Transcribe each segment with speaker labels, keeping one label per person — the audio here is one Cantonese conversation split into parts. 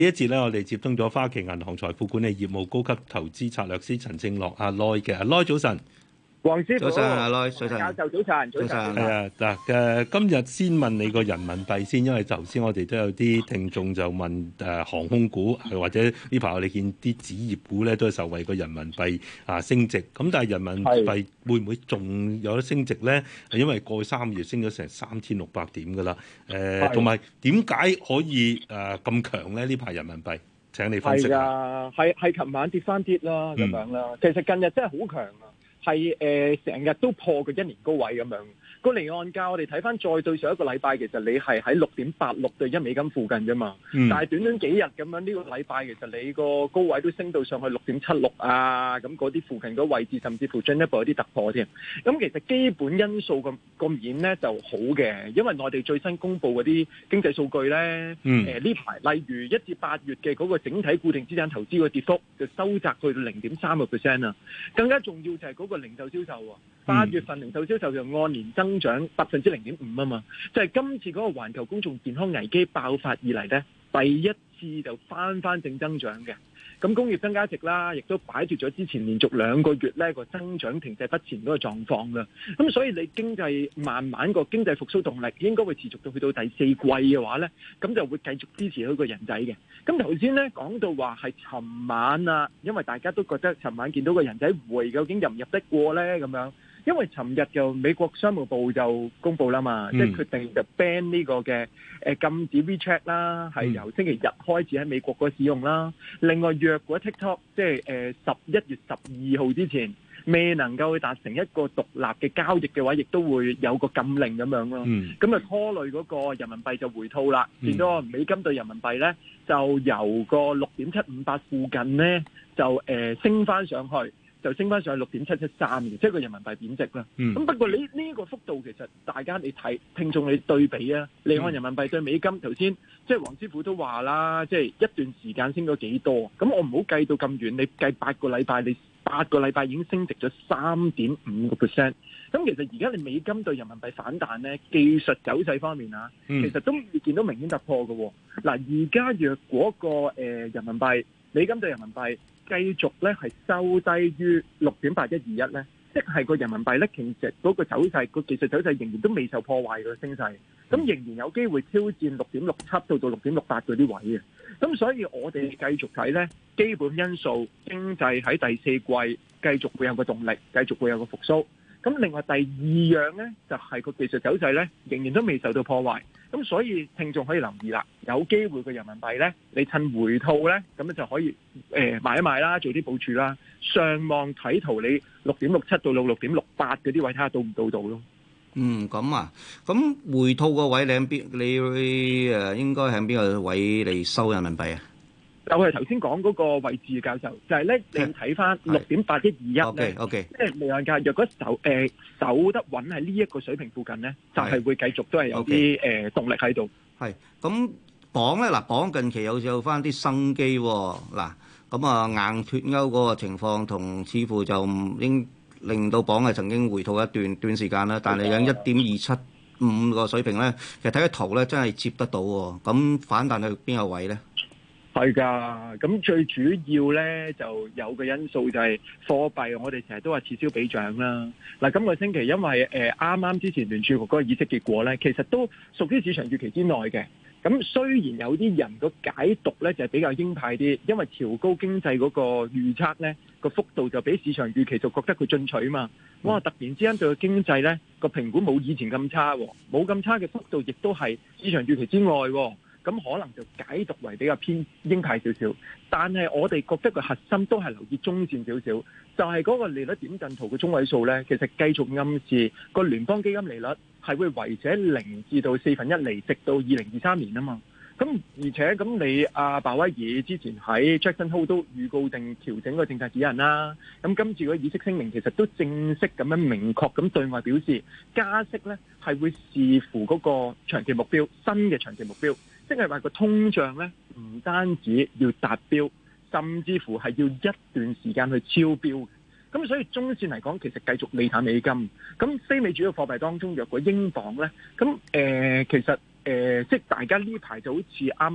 Speaker 1: 呢一節咧，我哋接通咗花旗銀行財富管理業務高級投資策略師陳正犖阿 Loy 嘅，阿 Loy 早晨。
Speaker 2: 黃師傅，
Speaker 3: 早晨，阿 Loy，早晨，
Speaker 2: 教授早晨，早晨。
Speaker 1: 係啊，嗱今日先問你個人民幣先，因為頭先我哋都有啲聽眾就問航空股，或者呢排我哋見啲紙業股咧都係受惠個人民幣升值，咁但係人民幣會唔會仲有得升值咧？因為過去3個月升咗成3600點㗎啦，同埋點解可以咁強咧？呢排人民幣？請你分析下。
Speaker 2: 係琴晚跌翻啲啦，咁樣啦。其實近日真係好強啊！係成日都破佢1年高位咁樣，個離岸價我哋睇翻再對上一個禮拜，其實你係喺6.86對1美金附近啫嘛。但係短短幾日咁樣呢個禮拜，其實你個高位都升到上去6.76啊，咁嗰啲附近嗰位置，甚至乎進一步有啲突破添。咁其實基本因素個面咧就好嘅，因為內地最新公布嗰啲經濟數據咧，呢排例如1至8月嘅嗰個整體固定資產投資嘅跌幅就收窄去到0.3%啊。更加重要就係嗰個零售銷售喎，8月份零售銷售就按年增長0.5%啊嘛，就係今次嗰個環球公眾健康危機爆發以嚟咧，第一次就翻正增長嘅。咁工業增加值啦，亦都擺脫咗之前連續2個月咧個增長停滯不前嗰個狀況啦。咁所以你經濟慢慢個經濟復甦動力應該會持續到去到第4季嘅話咧，咁就會繼續支持佢個人仔嘅。咁頭先咧講到話係尋晚啊，因為大家都覺得尋晚見到個人仔回究竟入唔入得過咧咁樣。因為尋日就美國商務部就公布啦嘛，即係決定就 ban 呢個嘅禁止 WeChat 啦，係由星期日開始喺美國嗰使用啦。另外，若果 TikTok 即係11月12號之前未能夠達成一個獨立嘅交易嘅話，亦都會有個禁令咁樣咯。咁啊拖累嗰個人民幣就回吐啦，見到美金對人民幣咧就由個6.758附近咧就升翻上去。就升翻上去6.713嘅，即係個人民幣貶值啦。咁不過你呢個幅度其實大家你睇聽眾你對比啊，離岸人民幣對美金頭先，即係黃師傅都話啦，即係一段時間升咗幾多？咁我唔好計到咁遠，你計8個禮拜，你8個禮拜已經升值咗3.5%。咁其實而家你美金對人民幣反彈咧，技術走勢方面啊，其實都未見到明顯突破嘅。嗱，而家若果個人民幣美金對人民幣繼續咧係收低於6.8121咧，即係個人民幣咧其實嗰個走勢個技術走勢仍然都未受破壞嘅升勢，咁仍然有機會挑戰6.67到6.68嗰啲位嘅。咁所以我哋繼續睇咧，基本因素經濟喺第4季繼續會有個動力，繼續會有個復甦。咁另外第2樣咧，就係個技術走勢咧，仍然都未受到破壞。咁所以聽眾可以留意啦，有機會個人民幣咧，你趁回吐咧，咁樣就可以買一買啦，做啲部署啦。上望睇圖你6.67到6.68嗰啲位睇下到唔到咯。
Speaker 3: 咁啊，咁回吐個位你喺邊？你應該喺邊個位嚟收人民幣啊？
Speaker 2: 就係頭先講嗰個位置嘅教授，就係咧你睇翻6.8121咧，即係離岸價若果守得穩喺呢一個水平附近咧，就係會繼續都係有啲動力喺度。
Speaker 3: 係咁鎊咧，嗱鎊近期有翻啲生機喎，嗱咁啊硬脱歐嗰個情況同似乎就唔應令到鎊係曾經回吐一段時間啦，但係喺1.275個水平咧，其實睇個圖咧真係接得到喎，咁反彈去邊個位咧？
Speaker 2: 係㗎，咁最主要咧就有個因素就係貨幣，我哋成日都話此消彼長啦。嗱，今個星期因為啱啱之前聯儲局嗰個議息結果咧，其實都屬於市場預期之內嘅。咁雖然有啲人個解讀咧就係比較鷹派啲，因為調高經濟嗰個預測咧個幅度就比市場預期就覺得佢進取嘛。哇！突然之間對個經濟咧個評估冇以前咁差，冇咁差嘅幅度，亦都係市場預期之外。咁可能就解讀為比較偏鷹派少少，但係我哋覺得個核心都係留意中線少少，就係嗰個利率點陣圖嘅中位數呢，其實繼續暗示個聯邦基金利率係會維持喺0至到1/4厘，直到2023年啊嘛。咁而且咁你鮑威爾之前喺 Jackson Hole 都預告定調整個政策指引啦。咁今次個議息聲明其實都正式咁樣明確咁對外表示，加息呢係會視乎嗰個長期目標，新嘅長期目標。即係話個通脹咧，唔單止要達標，甚至乎係要一段時間去超標。咁所以中線嚟講，其實繼續利淡美金。咁非美主要貨幣當中，若果英鎊咧，咁其實即係大家呢排就好似啱啱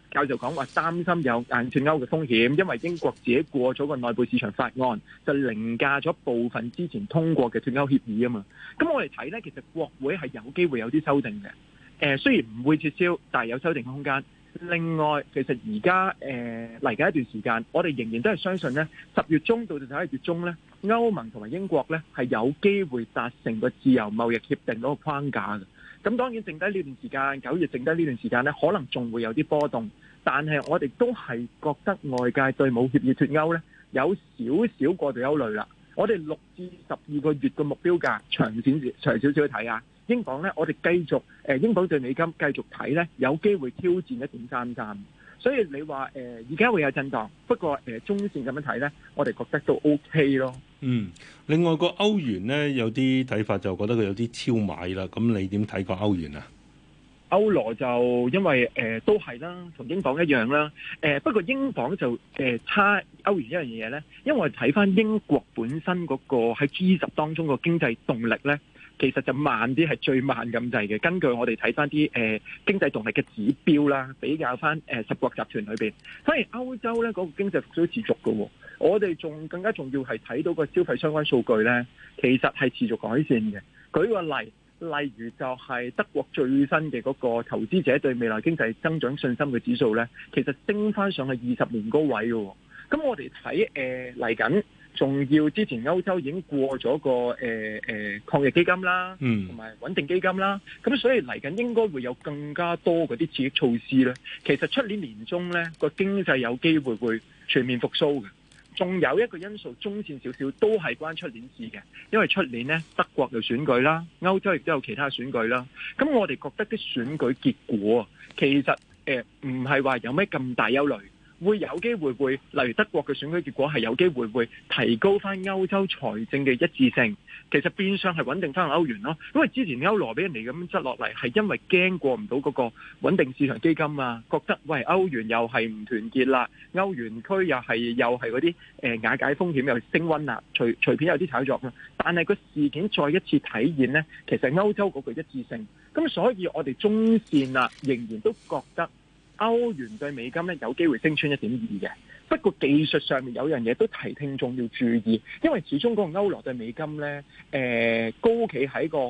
Speaker 2: 教授講話擔心有硬脱歐嘅風險，因為英國自己過咗個內部市場法案，就凌駕咗部分之前通過嘅脱歐協議啊嘛。咁我哋睇咧，其實國會係有機會有啲修訂嘅。雖然唔會撤銷，但係有修訂嘅空間。另外，其實而家嚟緊一段時間，我哋仍然都係相信咧，10月中到11月中咧，歐盟同埋英國咧係有機會達成個自由貿易協定嗰個框架嘅。咁當然剩低呢段時間，9月剩低呢段時間咧，可能仲會有啲波動，但係我哋都係覺得外界對冇協議脱歐咧有少少過度憂慮啦。我哋6至12個月嘅目標價長少少去睇啊。英鎊咧，我哋繼續英鎊對美金繼續睇咧，有機會挑戰1.33。所以你話而家會有震盪，不過中線咁樣睇咧，我哋覺得都 OK 咯。
Speaker 1: 另外個歐元咧有啲睇法就覺得佢有啲超買啦。咁你點睇個歐元啊？
Speaker 2: 歐羅就因為都係啦，同英鎊一樣啦。不過英鎊就差歐元一樣嘢咧，因為我哋睇翻英國本身嗰個喺 G10當中個經濟動力咧。其實就慢啲，係最慢咁滯嘅。根據我哋睇翻啲經濟動力嘅指標啦，比較翻10國集團裏邊，反而歐洲咧嗰個經濟復甦持續嘅喎。我哋仲更加重要係睇到個消費相關數據咧，其實係持續改善嘅。舉個例如就係德國最新嘅嗰個投資者對未來經濟增長信心嘅指數咧，其實升翻上去20年高位嘅喎。咁我哋睇嚟緊。仲要之前歐洲已經過咗個抗疫基金啦，同埋穩定基金啦，咁所以嚟緊應該會有更加多嗰啲刺激措施咧。其實出年年中咧個經濟有機會會全面復甦嘅。仲有一個因素中線少少都係關出年事嘅，因為出年咧德國有選舉啦，歐洲亦都有其他選舉啦。咁我哋覺得啲選舉結果其實唔係話有咩咁大憂慮。會有機會例如德國嘅選舉結果係有機會提高翻歐洲財政嘅一致性，其實變相係穩定翻歐元咯。因為之前歐羅俾人哋咁執落嚟，係因為驚過唔到嗰個穩定市場基金啊，覺得喂歐元又係唔團結啦，歐元區又係嗰啲瓦解風險又升溫啦，隨便有啲炒作啦。但係個事件再一次體現呢，其實歐洲嗰個一致性，咁所以我哋中線啊仍然都覺得。歐元對美金咧有機會升穿1.2嘅，不過技術上面有樣嘢都提聽眾要注意，因為始終嗰個歐羅對美金咧，高企喺個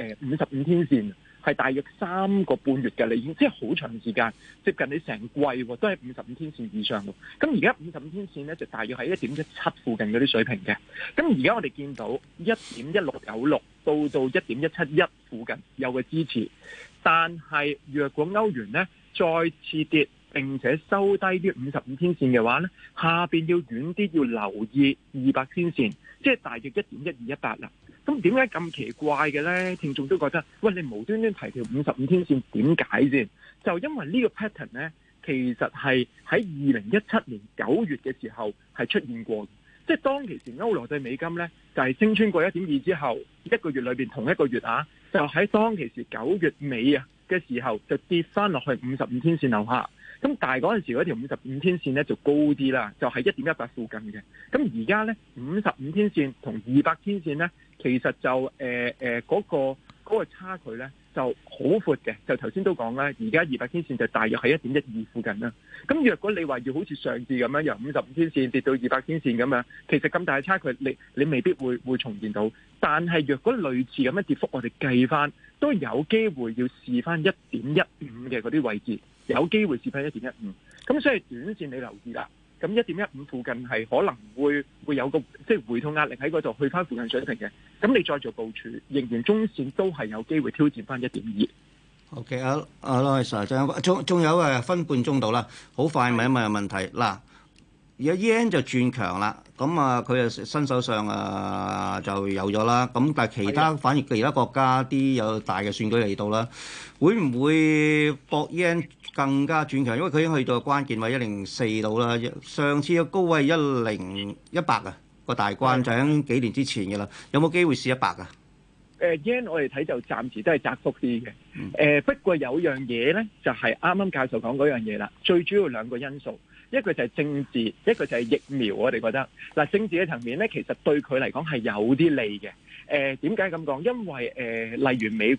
Speaker 2: 55天線，係大約3個半月嘅，你已經即係好長時間，接近你成季喎，都係55天線以上喎。咁而家55天線咧就大約喺1.17附近嗰啲水平嘅。咁而家我哋見到1.1696到1.171附近有個支持，但係若果歐元咧再次跌並且收低啲55天線嘅話咧，下邊要遠啲要留意200天線，即係大約1.1218啦。咁點解咁奇怪嘅咧？聽眾都覺得，喂，你無端端提條55天線點解先？就因為呢個 pattern 咧，其實係喺2017年9月嘅時候係出現過，即係當其時歐羅對美金咧就係升穿過1.2之後，一個月裏邊同一個月啊，就喺當其時9月尾啊嘅時候就跌翻落去55天線樓下，咁但係嗰陣時嗰條55天線咧就高啲啦，就係1.18附近嘅。咁而家咧55天線同200天線咧，其實就嗰個差距咧就好闊嘅。就頭先都講啦，而家200天線就大約喺1.12附近啦。咁若果你話要好似上次咁樣由55天線跌到200天線咁樣，其實咁大嘅差距你未必會重現到。但係若果類似咁嘅跌幅，我哋計翻都有機會要試翻1.15嘅嗰啲位置，有機會試翻1.15。咁所以短線你留意啦。咁1.15附近係可能會有個即係回吐壓力喺嗰度，去翻附近水平嘅。咁你再做部署，仍然中線都係有機會挑戰翻1.2。
Speaker 3: OK，羅 Sir， 仲有分半鐘到啦，好快問一問問題嗱。而家 yen 就轉強啦，咁啊佢啊新首相就有咗啦，咁但係反而其他國家啲有大嘅選舉嚟到啦，會唔會博 yen 更加轉強？因為佢已經去到關鍵位104度啦，上次嘅高位10100啊個大關就喺幾年之前嘅啦，有冇機會試100啊
Speaker 2: ？yen 我哋睇就暫時都係窄幅啲嘅，不過有樣嘢咧就係啱啱教授講嗰樣嘢啦，最主要兩個因素。一個就係政治，一個就係疫苗。我哋覺得嗱，政治嘅層面咧，其實對佢嚟講係有啲利嘅。點解咁講？因為例如美國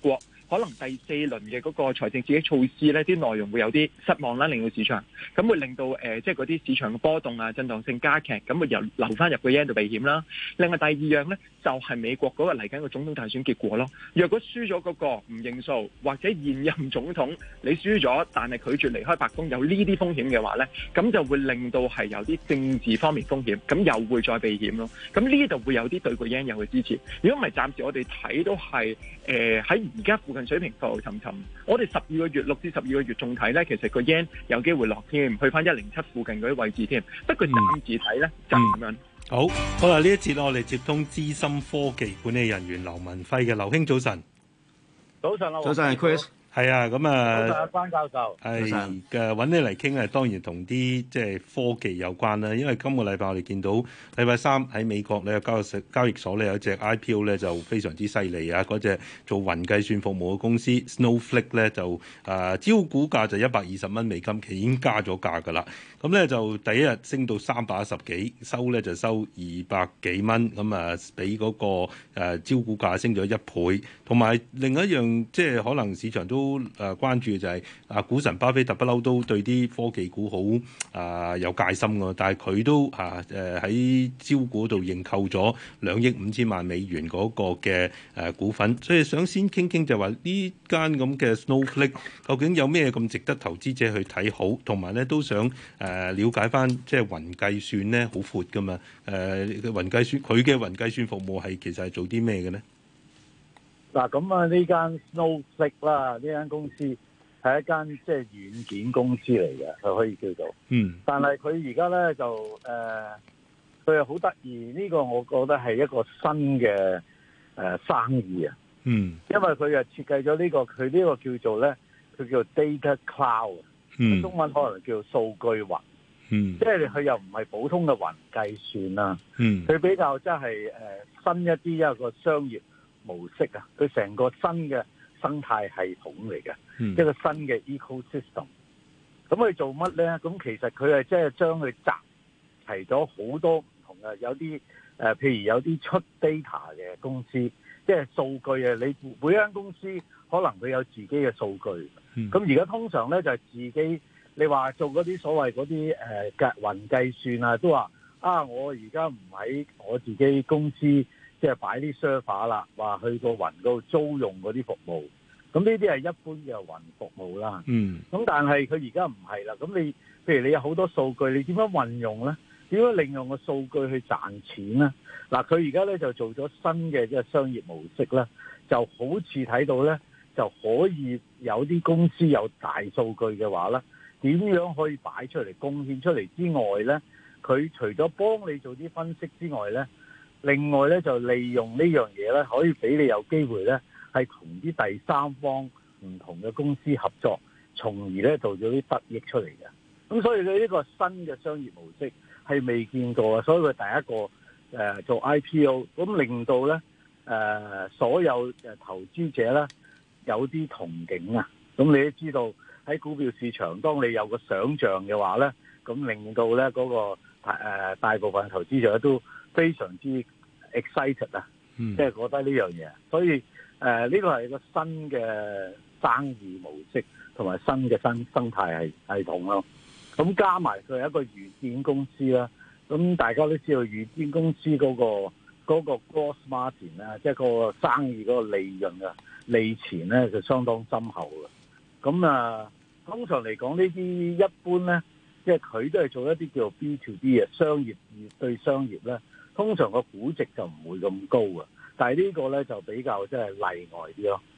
Speaker 2: 可能第四輪嘅嗰個財政刺激措施咧，啲內容會有啲失望啦，令到市場咁會令到即係嗰啲市場嘅波動啊、震盪性加劇，咁會由流翻入個 yen 度避險啦。另外第二樣咧，就係美國嗰個嚟緊個總統大選結果咯。若果輸咗嗰個唔認數，或者現任總統你輸咗，但係拒絕離開白宮，有呢啲風險嘅話咧，咁就會令到係有啲政治方面風險，咁又會再避險咯。咁呢度會有啲對個 yen 有嘅支持。如果唔係，暫時我哋睇都係喺而家附近水平浮浮沉沉。我哋6至12個月仲睇咧，其實個 yen 有機會落添，去翻107附近嗰啲位置添。不過暫時睇咧就咁樣。
Speaker 1: 好啦，呢一節我哋接通資深科技管理人員劉文輝嘅。劉兄早晨。
Speaker 4: 早晨啊，
Speaker 3: 早晨 Chris。
Speaker 1: 係啊，咁啊，
Speaker 4: 早晨關教授，
Speaker 1: 係嘅，揾你嚟傾啊，當然同啲即係科技有關啦。因為今個禮拜我哋見到禮拜三喺美國咧交易所咧有一隻 IPO 咧就非常之犀利啊！嗰隻做雲計算服務嘅公司 Snowflake 咧就招股價就$120美金，其實已經加咗價㗎啦。咁咧就第一日升到310幾，收咧就收200幾蚊，咁啊比嗰個招股價升咗1倍。同埋另一樣即係可能市場都關注嘅就係股神巴菲特不嬲都對啲科技股好有戒心㗎，但係佢都喺招股度認購咗2億5千萬美元嗰個嘅股份，所以想先傾傾就話呢間咁嘅 Snowflake 究竟有咩咁值得投資者去睇好，同埋咧都想了解翻即係雲計算咧好闊㗎嘛，雲計算佢嘅雲計算服務係其實係做啲咩嘅咧？
Speaker 4: 嗱咁啊，呢間 Snowflake 啦，呢間公司係一間即係軟件公司嚟嘅，佢可以叫做。但係佢而家咧就佢係好得意，呢個我覺得係一個新嘅生意啊。因為佢又設計咗呢個，佢呢個叫做咧，佢叫 Data Cloud，中文可能叫數據雲。即係佢又唔係普通嘅雲計算啦。佢比較即係新一啲一個商業模式啊，佢成個新嘅生態系統嚟嘅，一個新嘅 ecosystem。咁佢做乜咧？咁其實佢係即係將佢集齊咗好多唔同嘅，有啲譬如有啲出 data 嘅公司，即係數據啊。你每間公司可能佢有自己嘅數據。咁而家通常咧就係自己，你話做嗰啲所謂嗰啲雲計算啊，都話我而家唔喺我自己公司。即係擺啲 server 啦，話去個雲度租用嗰啲服務，咁呢啲係一般嘅雲服務啦。咁但係佢而家唔係啦。咁你譬如你有好多數據，你點樣運用咧？點樣利用個數據去賺錢咧？嗱，佢而家咧就做咗新嘅即係商業模式咧，就好似睇到咧就可以有啲公司有大數據嘅話咧，點樣可以擺出嚟貢獻出嚟之外咧，佢除咗幫你做啲分析之外咧，另外咧就利用呢樣嘢咧，可以俾你有機會咧，係同啲第三方唔同嘅公司合作，從而咧做咗啲得益出嚟嘅。咁所以佢呢個新嘅商業模式係未見過嘅，所以佢第一個做 IPO，咁令到咧所有投資者咧有啲憧憬啊。咁你都知道喺股票市場，當你有個想像嘅話咧，咁令到咧嗰個大部分投資者都非常之 excited 啊，即係覺得呢樣嘢，所以呢個係一個新嘅生意模式同埋新嘅生態系統咯。咁加埋佢係一個軟件公司啦，咁大家都知道軟件公司嗰個 gross margin 啦，即係個生意嗰個利潤啊利錢咧就相當深厚嘅。咁通常嚟講呢啲一般咧，即係佢都係做一啲叫做 B to B 嘅商業對商業咧。通常個估值就唔會咁高嘅，但係呢個咧就比較即係例外啲咯。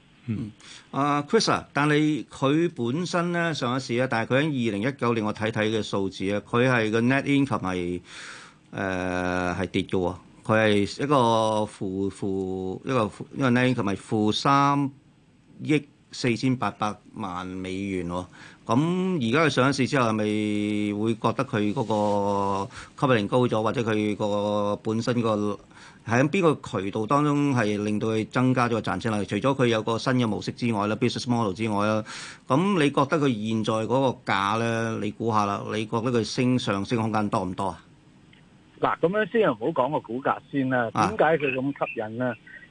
Speaker 3: Chris 啊，但係佢本身咧上一市咧，但係佢喺2019年我睇嘅數字啊，佢係個 net income 係跌嘅喎，佢係一個一個 net income 係負3億4800萬美元喎。咁而家佢上市之後係咪會覺得佢嗰個吸引力高咗，或者佢個本身個喺邊個渠道當中係令到佢增加咗個賺錢能力？除咗佢有個新嘅模式之外啦 ，business model 之外啦，咁你覺得佢現在嗰個價咧？你估下啦，你覺得佢上升空間多唔多啊？
Speaker 4: 嗱，咁樣先唔好講個股價先啦。點解佢咁吸引咧？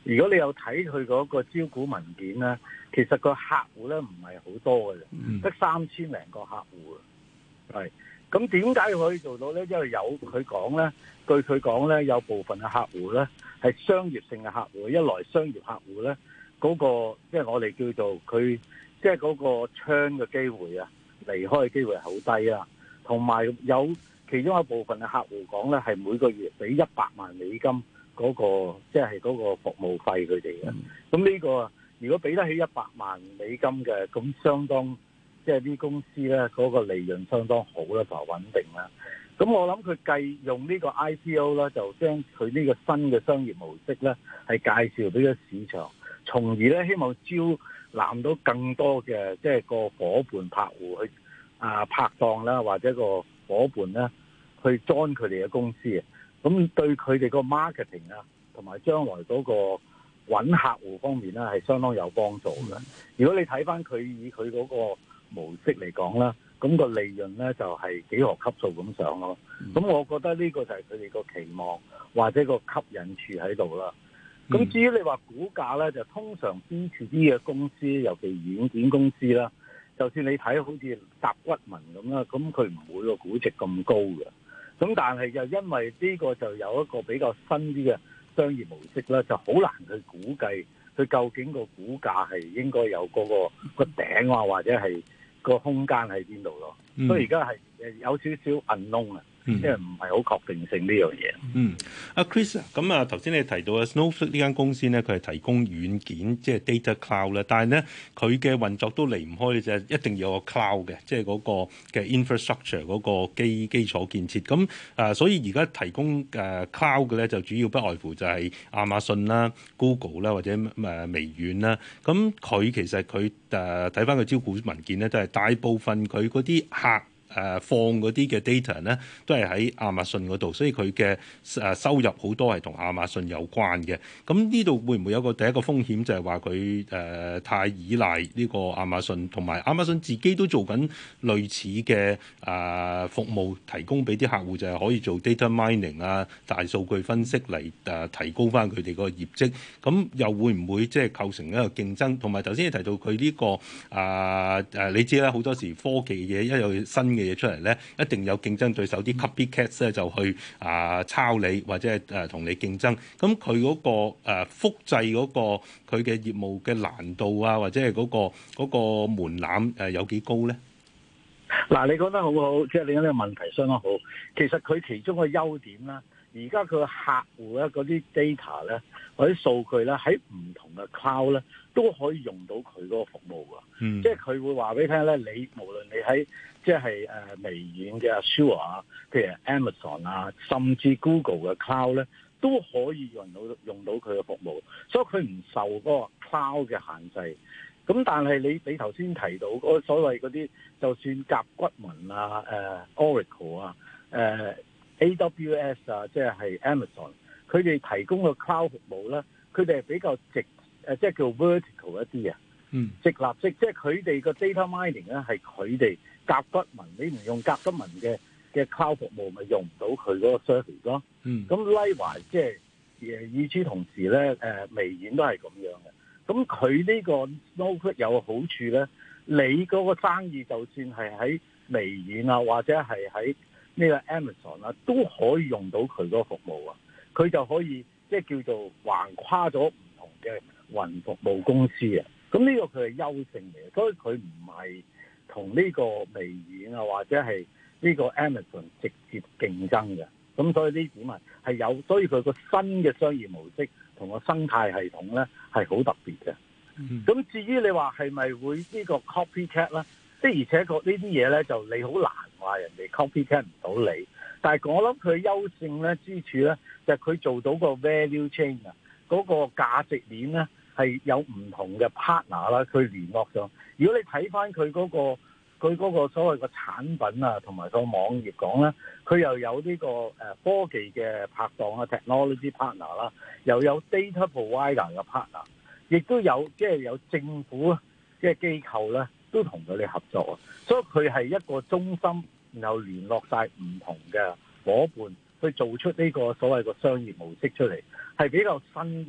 Speaker 4: 如果你有睇佢嗰個招股文件咧，其實個客戶咧唔係好多嘅啫，得3000零個客戶係。咁點解可以做到咧？因為有佢講咧，據佢講咧，有部分嘅客戶咧係商業性嘅客戶，一來商業客戶咧嗰個即係我哋叫做佢即係嗰個 churn 嘅機會啊，離開嘅機會係好低啊，同埋有其中一部分嘅客戶講咧係每個月俾100萬美金嗰個即係嗰個服務費佢哋嘅。咁呢個如果俾得起100萬美金嘅，咁相當即係啲公司咧嗰個利潤相當好啦，同埋穩定啦。咁我諗佢繼用呢個 IPO 啦，就將佢呢個新嘅商業模式咧係介紹俾個市場，從而咧希望招攬到更多嘅即係個伙伴客戶去拍檔啦，或者個伙伴咧去 join 佢哋嘅公司啊。咁對佢哋個 marketing 啊，同埋將來嗰個揾客戶方面咧係相當有幫助嘅。如果你睇翻佢以佢嗰個模式嚟講啦，咁個利潤咧就係幾何級數咁上咯。咁我覺得呢個就係佢哋個期望或者個吸引處喺度啦。咁至於你話股價咧，就通常 B2B 嘅公司，尤其軟件公司啦，就算你睇好似甲骨文咁啦，咁佢唔會個估值咁高嘅。咁但係就因為呢個就有一個比較新啲嘅商業模式啦，就好難去估計佢究竟個股價係應該有嗰個頂啊，或者係個空間喺邊度咯。所以而家係有少少 unknown 啊。即係唔係好確定性呢樣嘢。
Speaker 1: 阿 Chris 咁啊，頭先你提到啊 Snowflake 呢間公司咧，佢係提供軟件，即係 data cloud 啦。但係咧，佢嘅運作都離唔開就係一定要有個 cloud 嘅，即係嗰個嘅 infrastructure 嗰個基礎建設。咁所以而家提供cloud 嘅咧，就主要不外乎就係亞馬遜啦、Google 啦或者微軟啦。咁佢其實佢睇翻個招股文件咧，都係大部分佢嗰啲客。放嗰啲嘅 data 咧，都係喺亞馬遜嗰度，所以佢嘅收入好多係同亞馬遜有關嘅。咁呢度會唔會有第一個風險，就係話佢太依賴呢個亞馬遜，同埋亞馬遜自己都做緊類似嘅服務，提供俾啲客戶，就係可以做 data mining 啊、大數據分析嚟提高翻佢哋個業績。咁又會唔會即係構成一個競爭？同埋頭先你提到佢呢個你知啦，好多時科技嘢一有新嘅嘢出嚟咧，一定有競爭對手，啲 copycats 咧就去抄你或者係同你競爭。咁佢嗰個複製嗰個佢嘅業務嘅難度啊，或者係嗰個門檻有幾高咧？
Speaker 4: 嗱，你講得好好，即係你講呢個問題相當好。其實佢其中個優點啦，而家佢個客戶咧嗰啲 data 咧，或者數據咧喺唔同嘅 cloud 咧都可以用到佢嗰個服務㗎。即係佢會話俾你聽咧，你無論你喺即係微軟嘅 Azure 啊，譬如 Amazon 啊，甚至 Google 嘅 cloud 咧，都可以用到佢嘅服務，所以佢唔受嗰個 cloud 嘅限制。咁但係你頭先提到嗰所謂嗰啲，就算甲骨文啊、Oracle 啊、AWS 啊，即係 Amazon，佢哋提供嘅 cloud 服務咧，佢哋係比較即係叫 vertical 一啲啊。直立式，即係佢哋個 data mining 咧，係佢哋甲骨文，你唔用甲骨文嘅 cloud 服務，咪用唔到佢嗰個 service 咯。咁 likewise 即係與此同時咧，微軟都係咁樣嘅。咁佢呢個 Snowflake 有個好處咧，你嗰個生意就算係喺微軟啊，或者係喺呢個 Amazon 啊，都可以用到佢嗰個服務啊。佢就可以即係叫做橫跨咗唔同嘅雲服務公司啊。咁呢個佢係優勝嚟嘅，所以佢唔係同呢個微軟啊或者係呢個 Amazon 直接競爭嘅。咁所以呢點係有，所以佢個新嘅商業模式同個生態系統咧係好特別嘅。咁至於你話係咪會呢個 copycat 咧？的而且確呢啲嘢咧就你好難話人哋 copycat 唔到你。但係我諗佢優勝咧之處咧就係佢做到個 value chain 啊，嗰個價值鏈咧。係有唔同嘅 partner 啦，佢聯絡上。如果你睇翻佢嗰個所謂嘅產品啊，同埋個網頁講咧，佢又有呢個科技嘅拍檔啊 ，technology partner 啦，又有 data provider 嘅 partner， 亦都有即係有政府即係機構咧，都同佢哋合作啊。所以佢係一個中心，然後聯絡晒唔同嘅伙伴，去做出呢個所謂嘅商業模式出嚟，係比較新啲。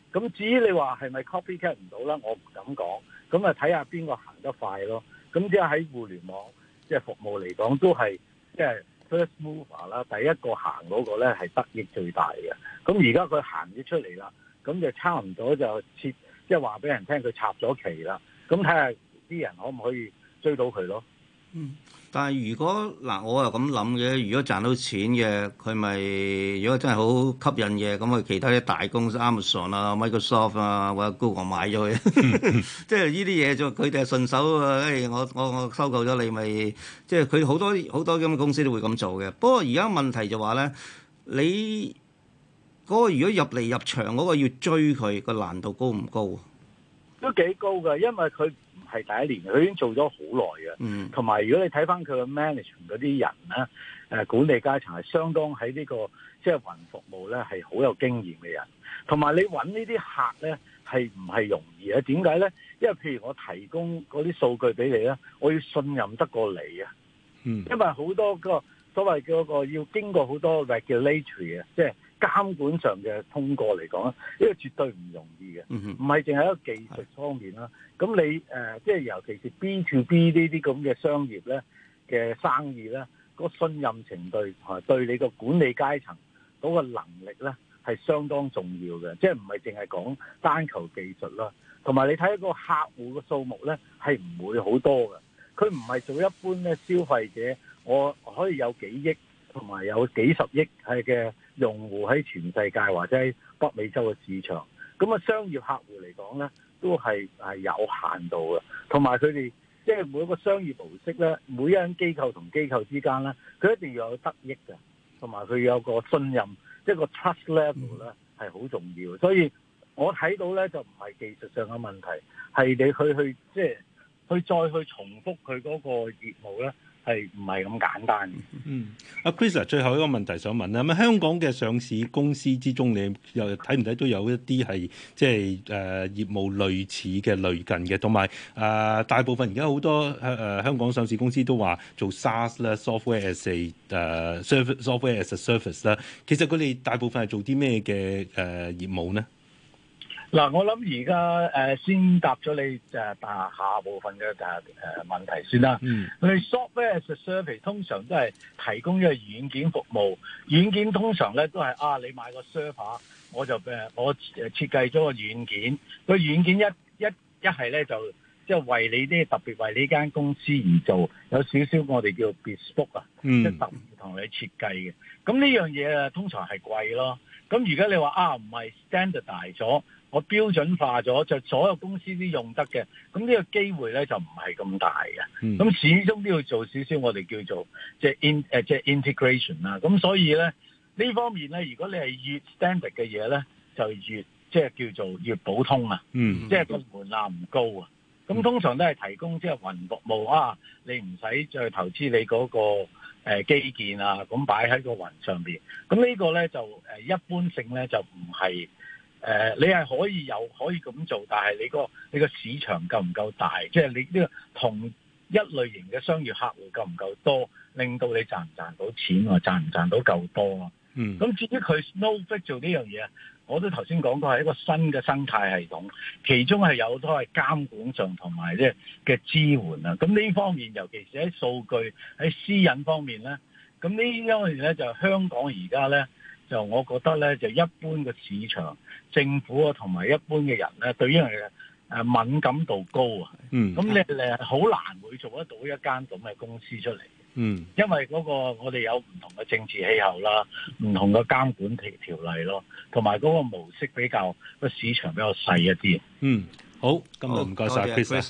Speaker 4: 咁至於你話係咪 copycat 唔到啦，我唔敢講。咁啊睇下邊個行得快咯。咁即係喺互聯網即係服務嚟講，都係即係 first mover 啦，第一個行嗰個咧係得益最大嘅。咁而家佢行咗出嚟啦，咁就差唔多就即係話俾人聽佢插咗旗啦。咁睇下啲人可唔可以追到佢咯？
Speaker 3: 但係如果嗱，我又咁諗嘅，如果賺到錢嘅，佢咪如果真係好吸引嘅，咁啊其他啲大公司 Amazon 啊、Microsoft 啊或者 Google 買咗佢，即係呢啲嘢就佢哋係順手啊！我收購咗你咪，即係佢好多咁嘅公司都會咁做嘅。不過而家問題就話咧，你嗰個如果入嚟入場嗰個要追佢個難度高唔高？
Speaker 4: 都幾高㗎，因為佢唔係第一年，佢已經做咗好耐嘅。同埋如果你睇翻佢嘅 management 嗰啲人咧，管理階層係相當喺呢個即係雲服務咧係好有經驗嘅人。同埋你揾呢啲客咧係唔係容易啊？點解咧？因為譬如我提供嗰啲數據俾你咧，我要信任得過你啊。因為好多個所謂嗰個要經過好多 regulatory 嘅，即係監管上嘅通過嚟講，呢個絕對唔容易嘅，唔係淨係一個技術方面啦。咁你即係尤其是 B to B 呢啲咁嘅商業咧嘅生意咧，個信任程度同對你個管理階層嗰個能力咧係相當重要嘅，即係唔係淨係講單求技術啦。同埋你睇個客戶嘅數目咧係唔會好多嘅，佢唔係做一般咧消費者，我可以有幾億同埋有幾十億係嘅用戶喺全世界或者喺北美洲嘅市場，咁啊商業客戶嚟講咧都係有限度嘅，同埋佢哋即係每一個商業模式咧，每一間機構同機構之間咧，佢一定要有得益嘅，同埋佢有個信任，即係個 trust level 咧係好重要。所以我睇到咧就唔係技術上嘅問題，係你去即係去再去重複佢嗰個業務咧。係唔係咁簡單嘅？
Speaker 1: 阿 Chris 最後一個問題想問啦，咁香港嘅上市公司之中，你又睇唔睇到有一啲係即係業務類似嘅類近嘅，同埋大部分而家好多香港上市公司都話做 SaaS 啦，software as a service 啦，其實佢哋大部分係做啲咩嘅業務呢？
Speaker 4: 嗱，我諗而家先答咗你下部分嘅問題先啦。我哋 software as a service 通常都係提供一個軟件服務，軟件通常咧都係你買個 server，我設計咗個軟件，個軟件一係咧就即係為你啲特別為呢間公司而做，有少少我哋叫 bespoke 啊，即係特別同你設計嘅。咁呢樣嘢通常係貴咯。咁如果你話唔係 standardize 咗，我標準化咗，就所有公司都用得嘅，咁呢個機會咧就唔係咁大嘅。咁始終都要做少少我哋叫做即係 integration 啦。咁所以咧呢方面咧，如果你係越 standard 嘅嘢咧，就越即係叫做越普通啊。即係個門檻唔高啊。咁通常都係提供即係雲服務你唔使再投資你嗰個基建啊，咁擺喺個雲上邊。咁呢個咧就一般性咧就唔係。你係可以咁做，但係你個市場夠唔夠大？即係你呢個同一類型嘅商業客戶夠唔夠多，令到你賺唔賺到錢啊？賺唔賺到夠多啊？咁至於佢 Snowflake 做呢樣嘢，我都頭先講過係一個新嘅生態系統，其中係有好多係監管上同埋即係嘅支援啊。咁呢方面，尤其是喺數據喺私隱方面咧，咁呢因為咧就香港而家咧。就我覺得咧，就一般嘅市場、政府啊，同埋一般嘅人咧，對呢樣嘢敏感度高啊。咁你好難會做得到一間咁嘅公司出嚟。因為嗰個我哋有唔同嘅政治氣候啦，唔同嘅監管條例咯，同埋嗰個模式比較個市場比較細一啲。
Speaker 1: 好，今日唔該晒 Chris。